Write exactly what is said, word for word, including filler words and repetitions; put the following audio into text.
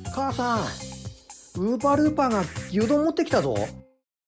母さん、ウーパールーパーが牛丼持ってきたぞ。